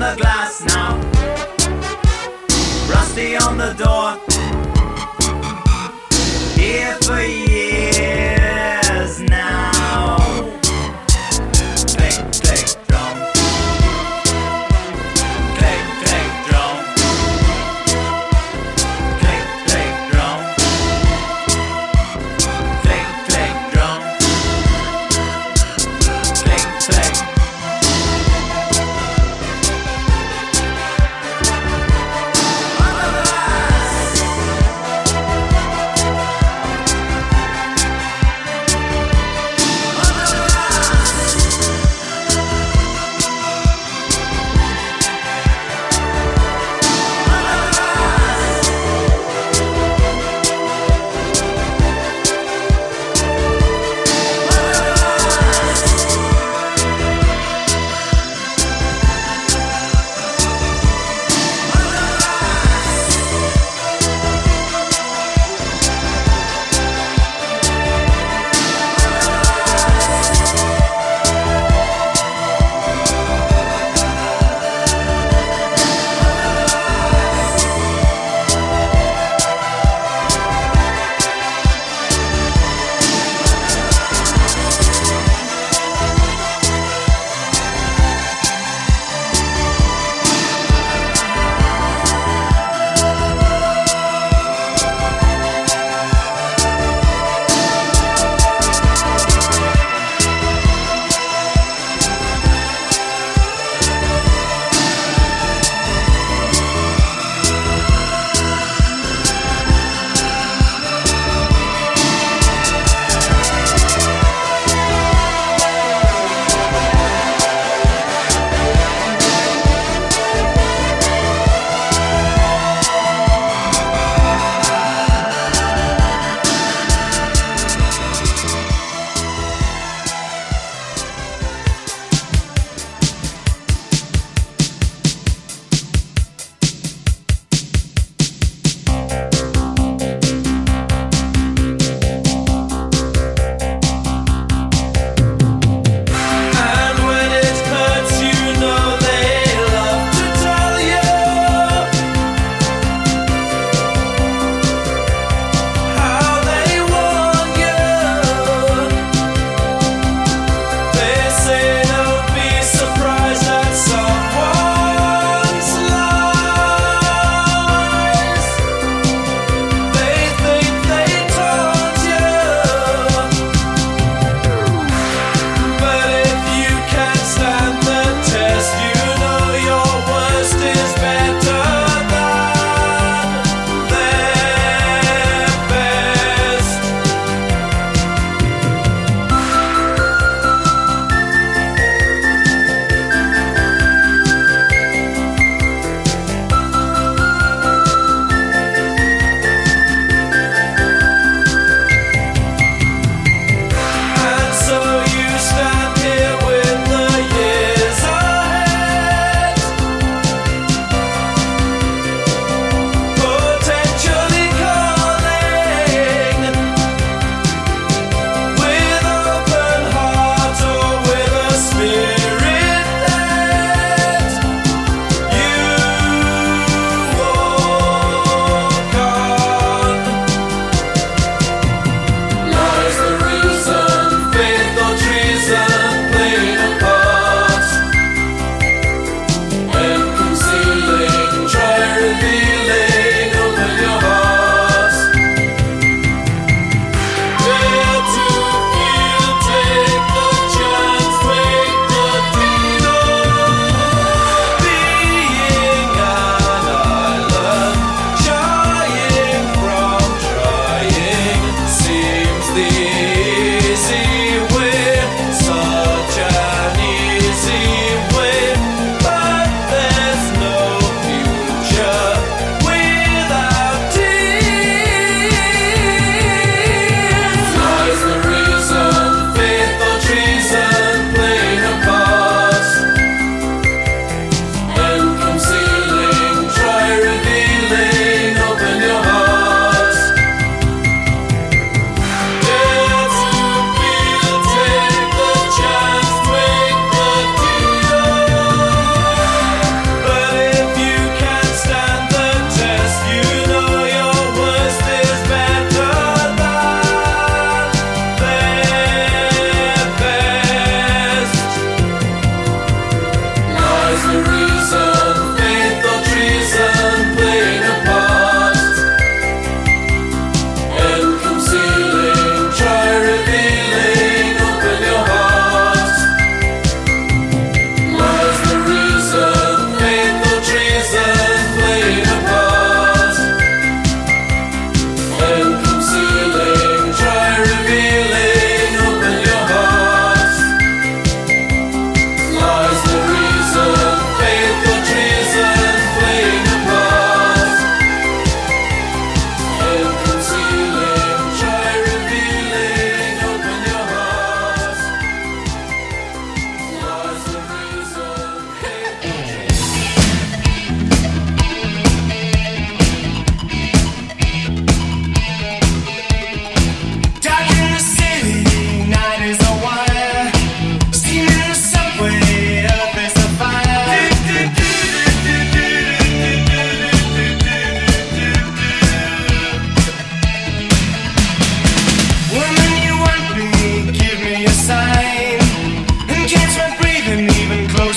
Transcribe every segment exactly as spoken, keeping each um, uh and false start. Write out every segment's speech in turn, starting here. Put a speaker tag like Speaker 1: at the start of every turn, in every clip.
Speaker 1: the glass now. Rusty on the door. Here for years now. Click, click, drum. Click, click, drum. Click, click, drum. Click, click, drum. Click, click. Under the glass.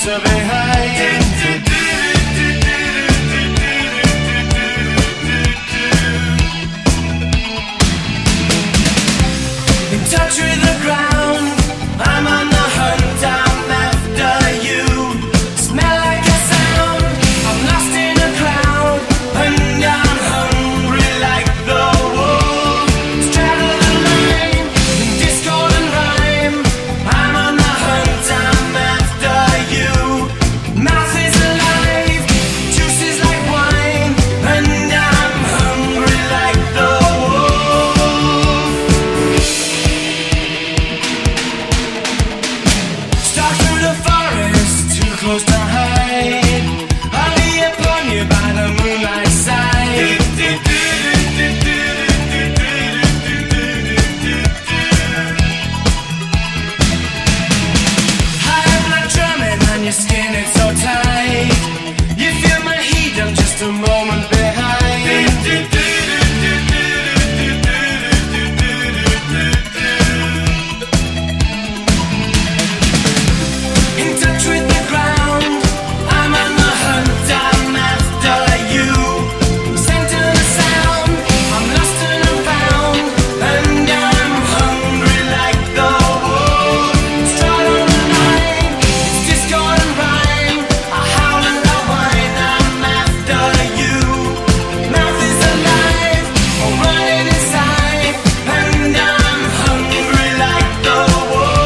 Speaker 2: closer behind. In touch with the ground, I'm on the hunt, I'm after you. Smell like a sound, I'm lost in a crowd, and I'm hungry like the wolf. Straddle the line, in discord and rhyme, I'm on the hunt, I'm after you. Mouth is alive, juice is like wine, and I'm hungry like the wolf. Stalk through the forest, too close to hide. I'll be upon you by the moonlight side. High blood drumming on your skin, it's so tight. You feel my heat, I'm just a moment behind. In touch with the ground, I'm on the hunt, I'm after you. Center the sound, I'm lost and I'm found, and I'm hungry like the wolf. Stride on the line, it's discord and rhyme. I howl and I whine, I'm after you. Mouth is alive, I'm running inside, and I'm hungry like the wolf.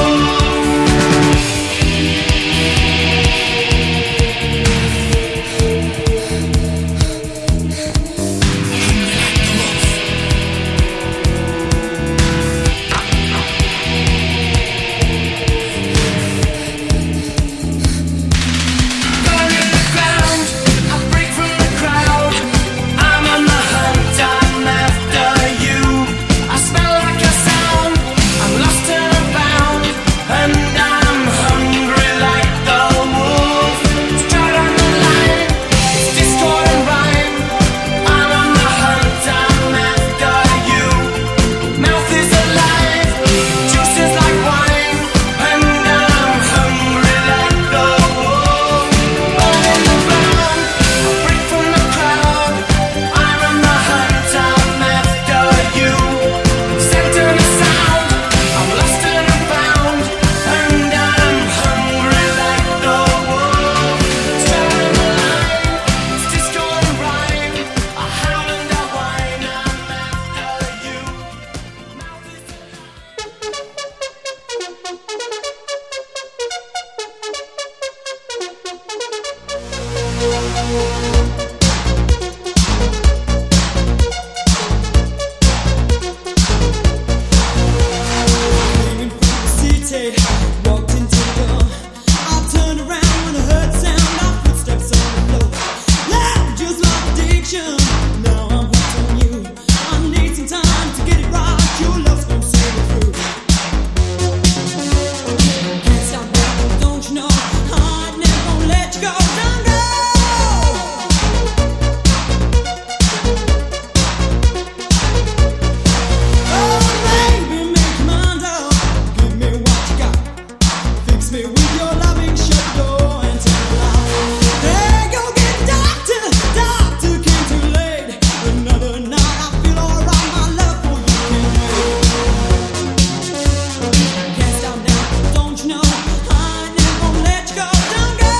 Speaker 2: Burning the ground, I break from the crowd. I'm on the hunt, I'm after you. I smell like a sound, I'm lost and I'm found, and I'm hungry like the wolf. Stride on the line, it's discord and rhyme. I'm on the hunt, I'm after you. Mouth is alive, juice is like wine, and I'm hungry like the wolf. Burning the ground, I break from the crowd. I'm on the hunt, I'm after you. Center the sound, I'm lost and I'm found, and I'm hungry like the wolf. Straddling the line, it's discord and rhyme. I howl and I whine, I'm after you. Mouth is
Speaker 3: Leaving from the city, walked into the door. I turned around when I heard the sound of footsteps on the floor. Loud, just like addiction. Now I'm hooked on you. I need some time to get it right. Your love's gonna see me through. Can't stop now, don't you know? I never gonna let you go. Don't go. Oh, baby, make your mind up. Give me what you got. Fix me with your loving, shut the door and turn it off. Hey, go get a doctor. Doctor came too late. Another night, I feel alright. My love for you can't wait. Can't stop now, don't you know? I never gonna let you go. Don't go.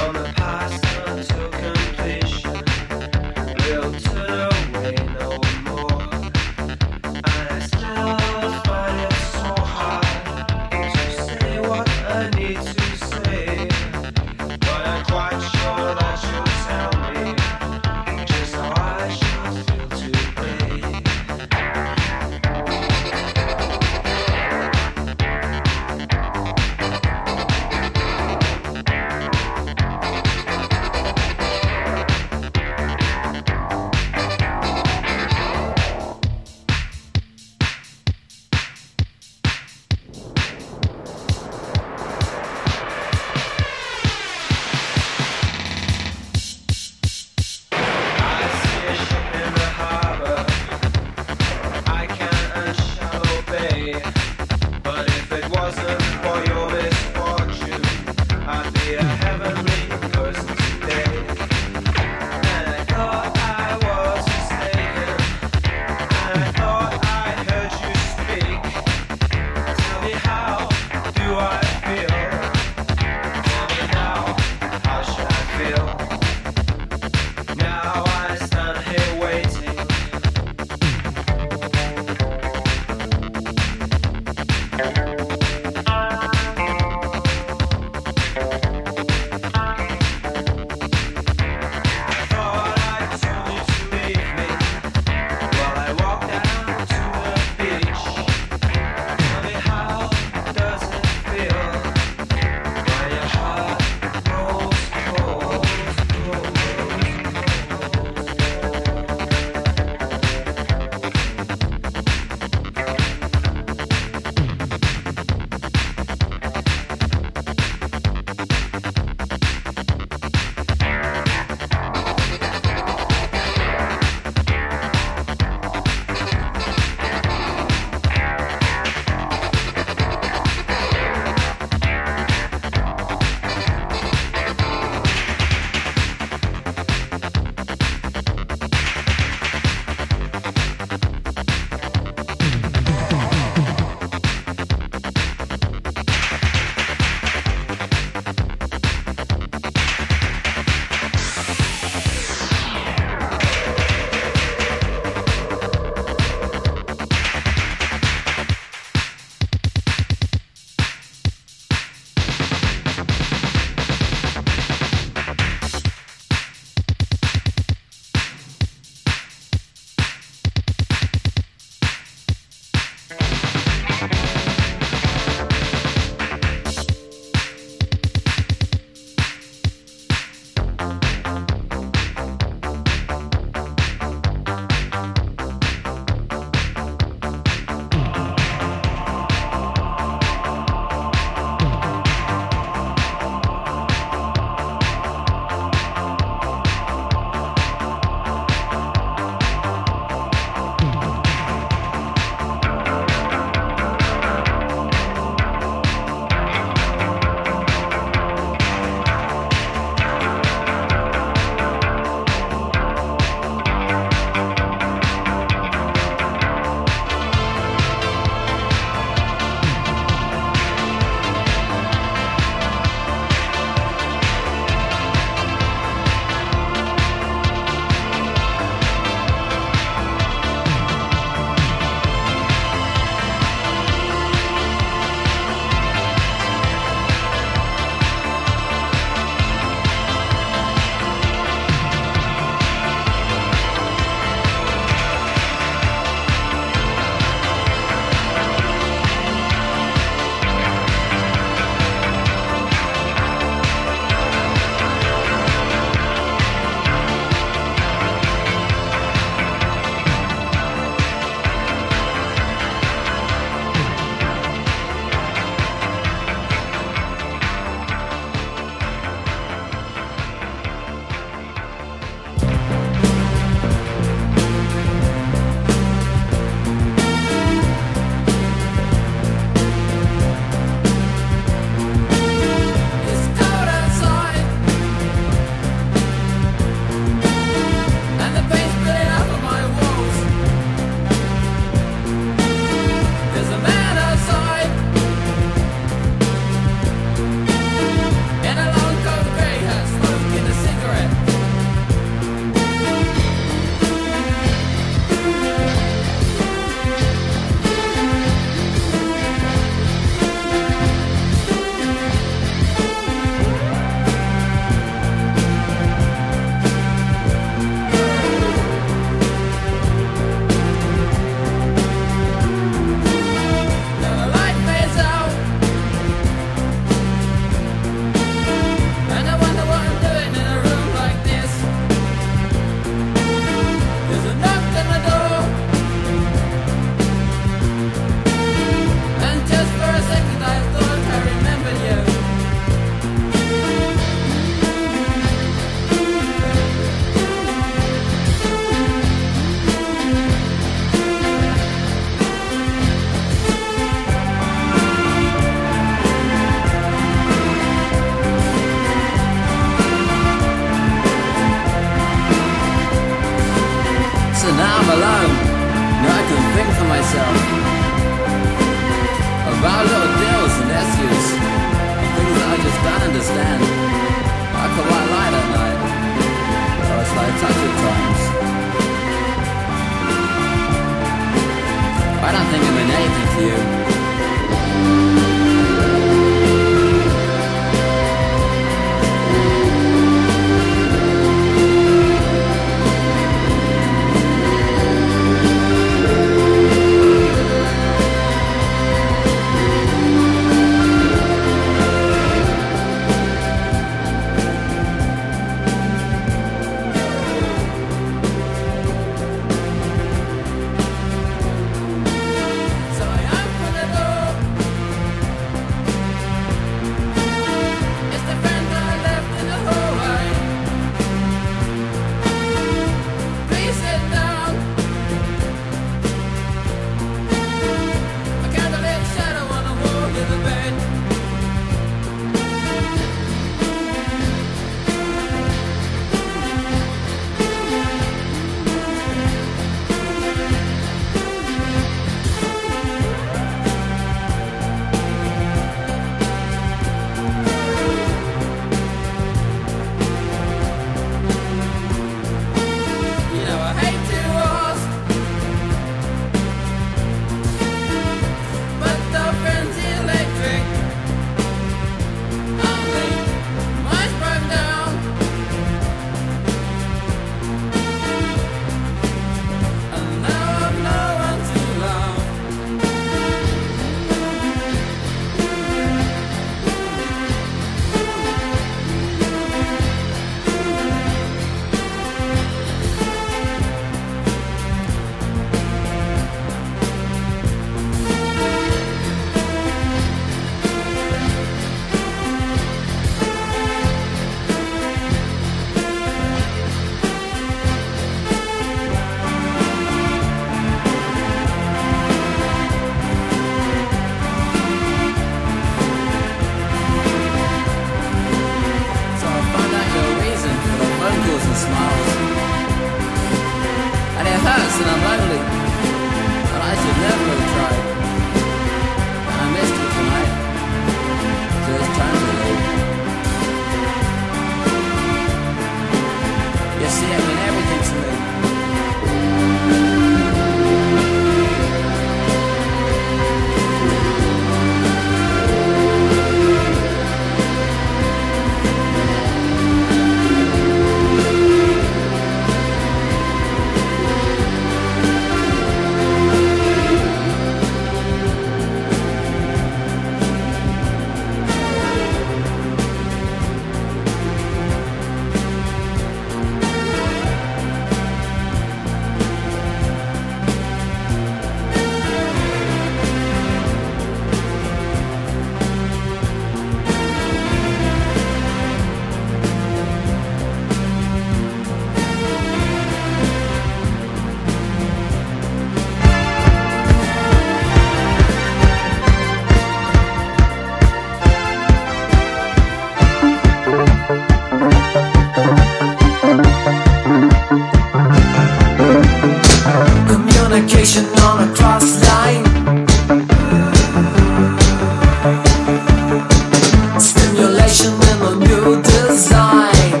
Speaker 4: confrontation in a new design.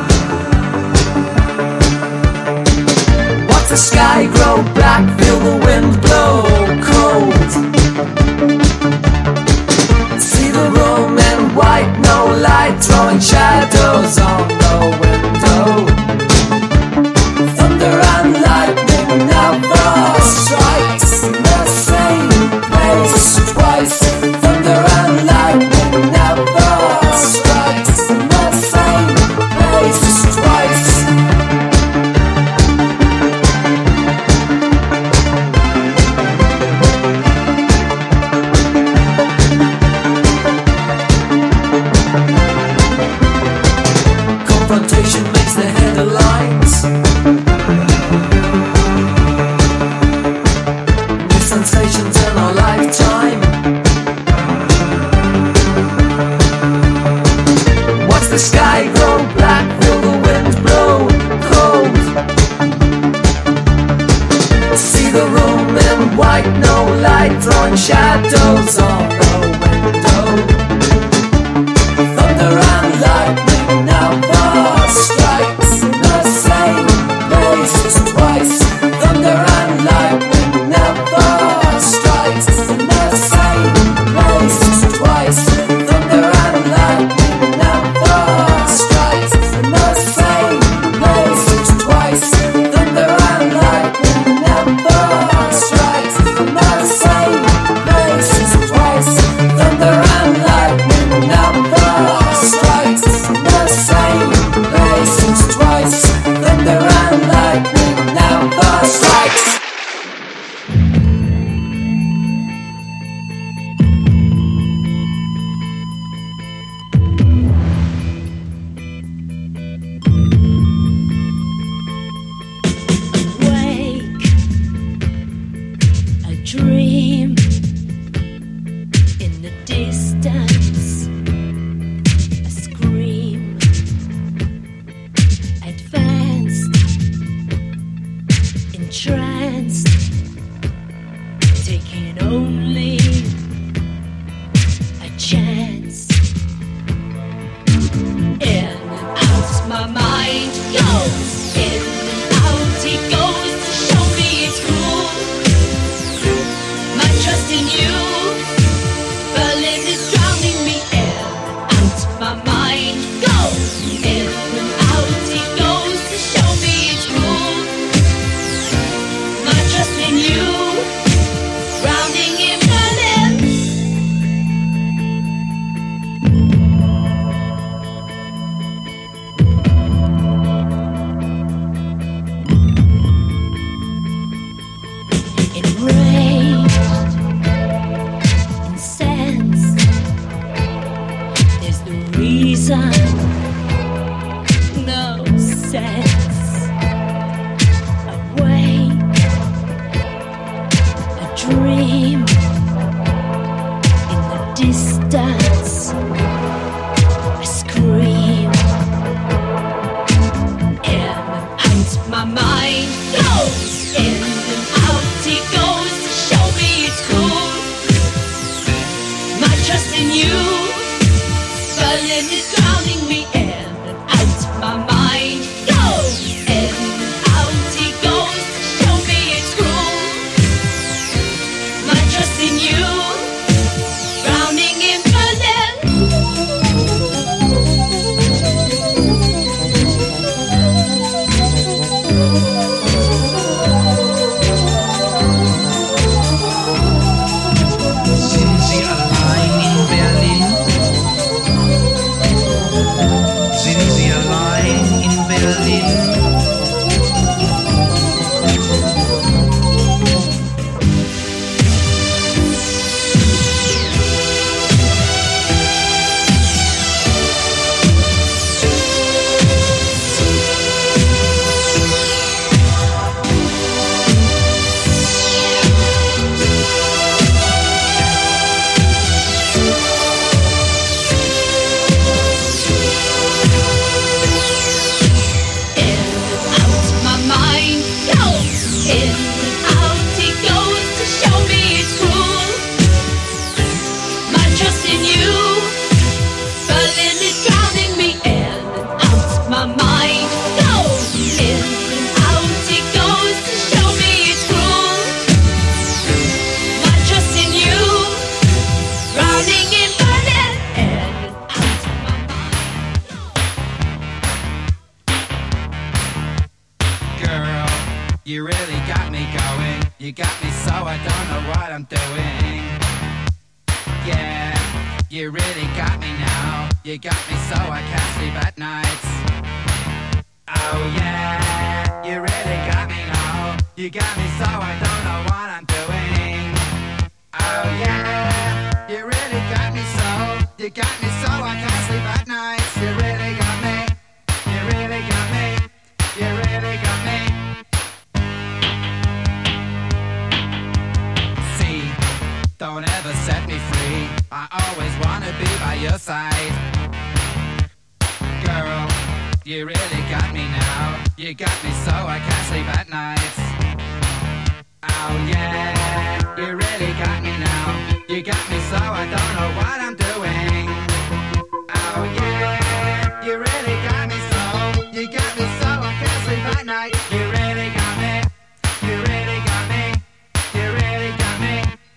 Speaker 4: Watch the sky grow black, feel the wind blow cold. See the room in white, no light, throwing shadows on the window. Thunder and lightning never strikes the same place twice. Thunder and lightning never strikes the same place twice. Confrontation makes the headlines. New sensations in our lifetime. Watch the sky grow black, feel the wind blow cold. See the room in white, no light, throwing shadows on the window. Thunder and lightning never strikes the same place twice. Thunder and lightning never strikes the same place twice. Thunder and lightning never strikes the same place twice. Thunder and lightning never strikes the same place twice. Thunder and lightning never strikes the same place twice. Thunder and lightning never strikes.
Speaker 5: Awake, a dream in the distance, a scream, advanced, entranced, taking only a chance. In and out my mind goes, in and out he goes to show me it's cool. My trust in you, Berlin is drowning me. In and out my mind goes, in and out he goes to show me it's cool. My trust in you, drowning in Berlin. Enraged, incensed, there's the reason, no sense. Awake, a dream in the distance, a scream. In and out my mind goes, in and out he goes to show me it's cool. My trust in you, Berlin is drowning me. In and out my mind goes, in and out he goes to show me it's cool. My trust in you, drowning in
Speaker 6: Sind Sie allein in Berlin?
Speaker 1: You got me so I don't know what I'm doing. Yeah, you really got me now. You got me so I can't sleep at nights. Oh yeah, you really got me now. You got me so I don't know what I'm doing. Oh yeah, you really got me so. You got me so I can't sleep at nights. You really got me. You really got me. You really got me. See, don't ever set me free. I always wanna be by your side. Girl, you really got me now. You got me so I can't sleep at nights. Oh yeah, you really got me now. You got me so I don't know what I'm doing. Oh yeah, you really got me so. You got me so I can't sleep at night. You really got me. You really got me. You really got me.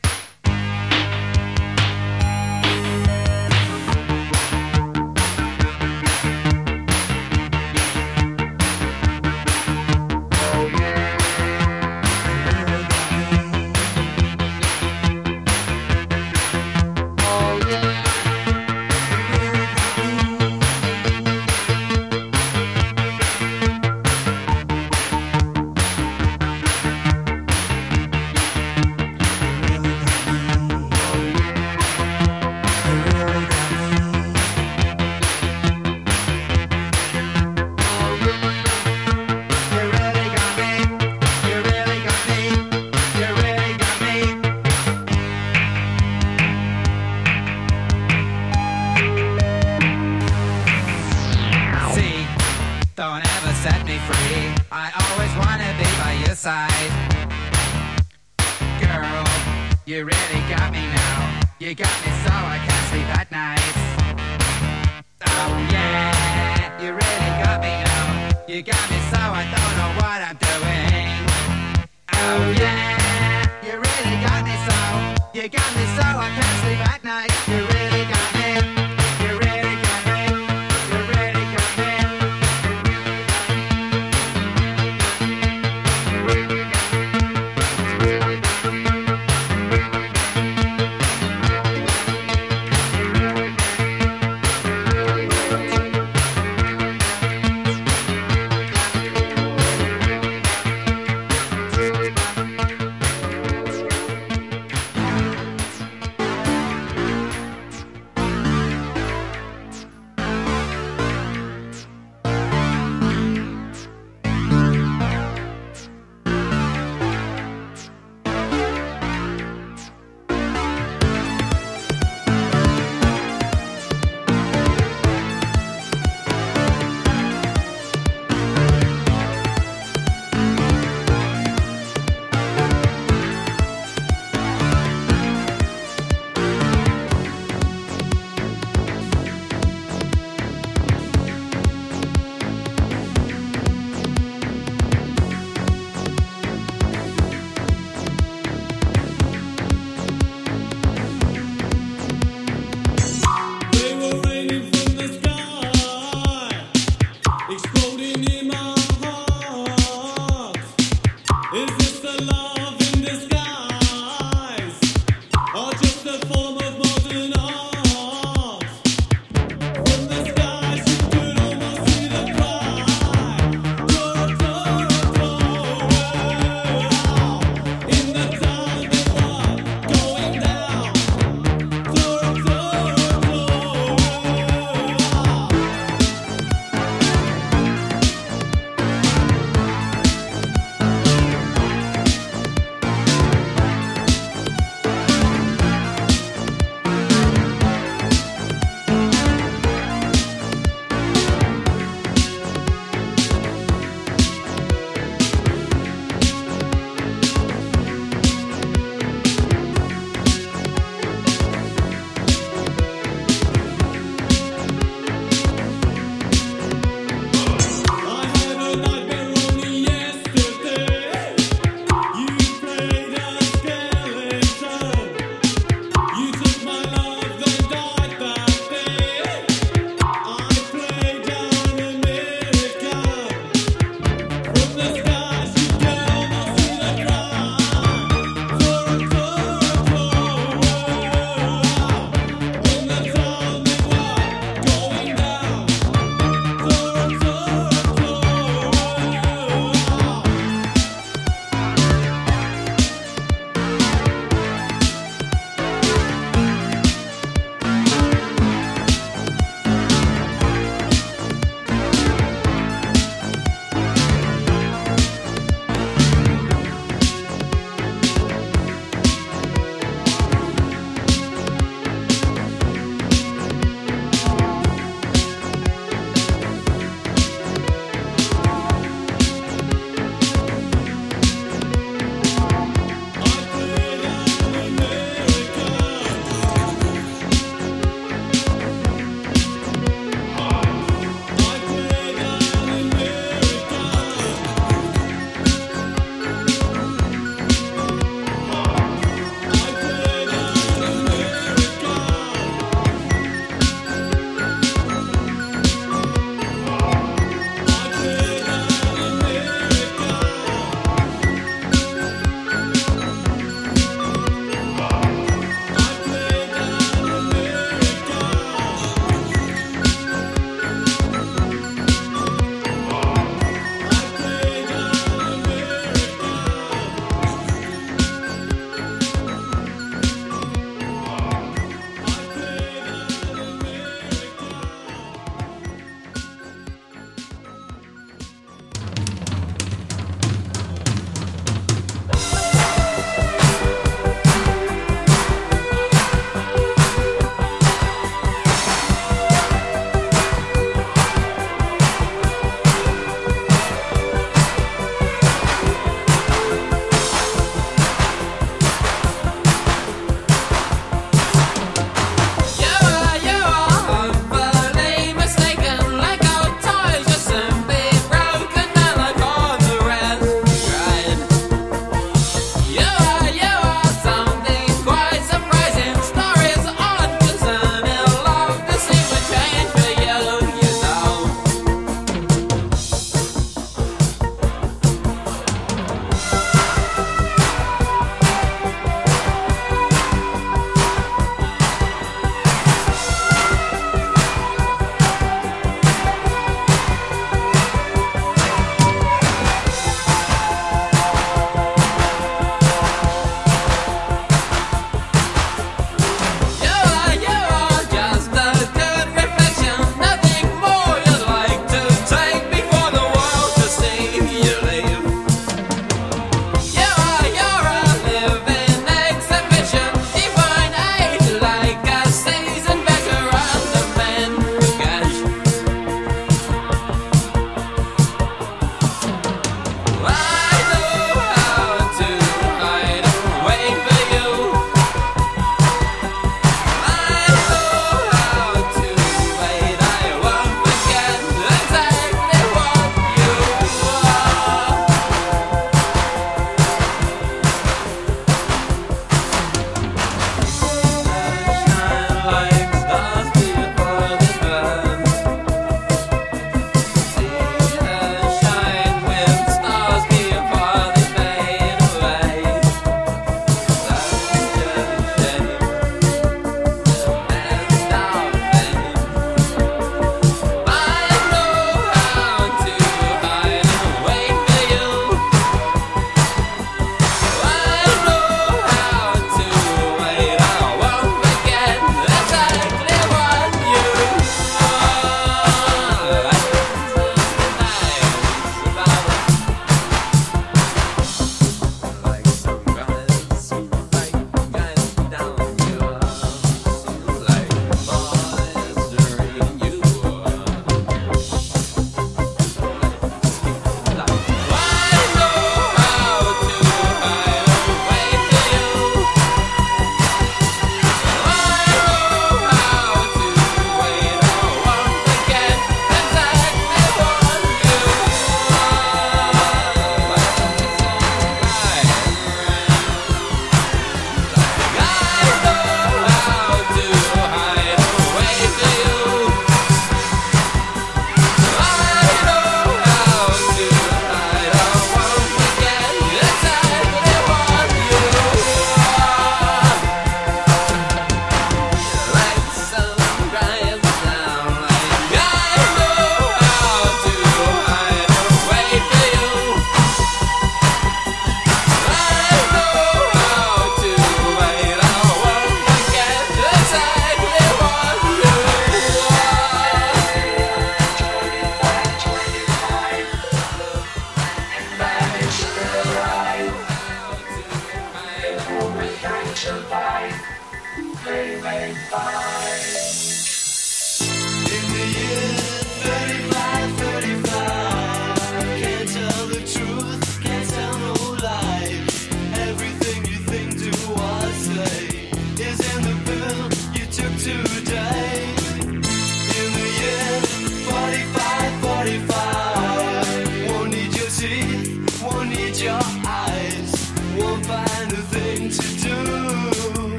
Speaker 1: Side. Girl, you really got me now. You got me so I can't sleep at night. Oh yeah, you really got me now. You got me so I don't know what I'm doing. Oh yeah, you really got me so. You got me so I can't sleep at night. You really got me. You really got me. You really got me.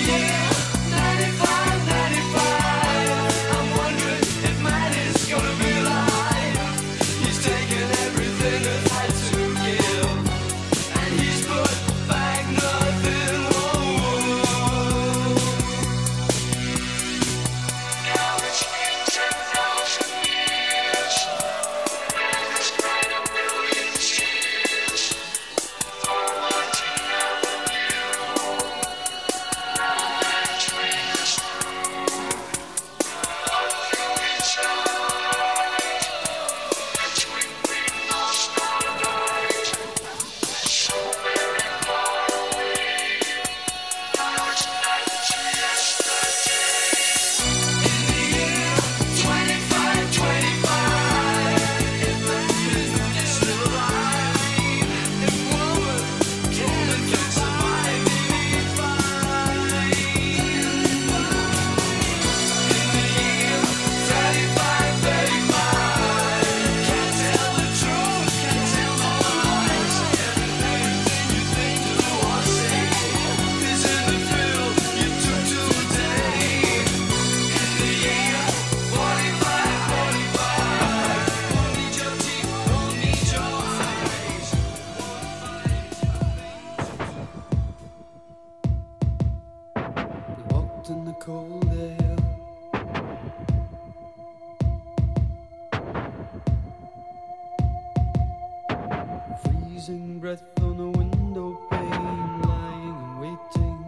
Speaker 6: Freezing breath on a window pane, lying and waiting.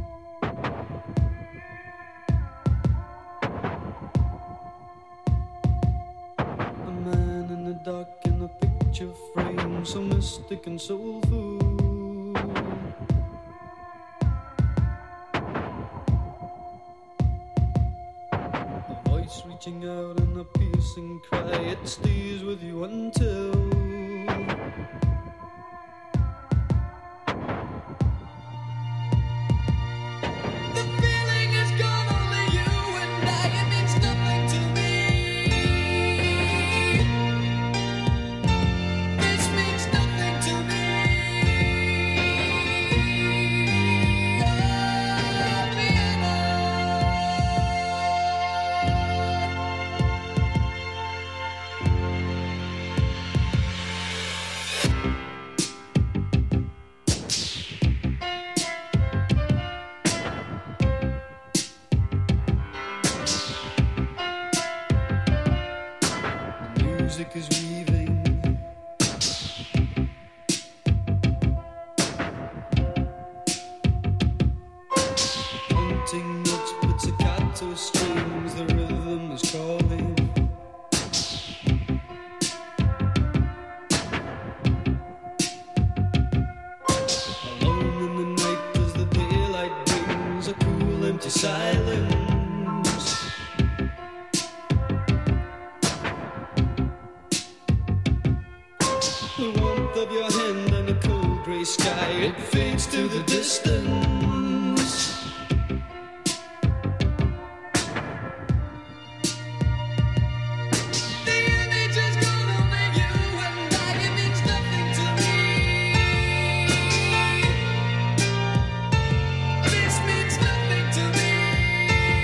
Speaker 6: A man in the dark in a picture frame, so mystic and soulful. A voice reaching out in a piercing cry, it stays with you until music is weaving. Hunting notes, pizzicato strings, the rhythm is calling. Alone in the night as the daylight brings a cool empty silence. The warmth of your hand and a cold grey sky, it fades to the distance. The image is gone, only you and I, it means nothing to me. This means nothing to me.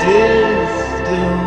Speaker 7: distance.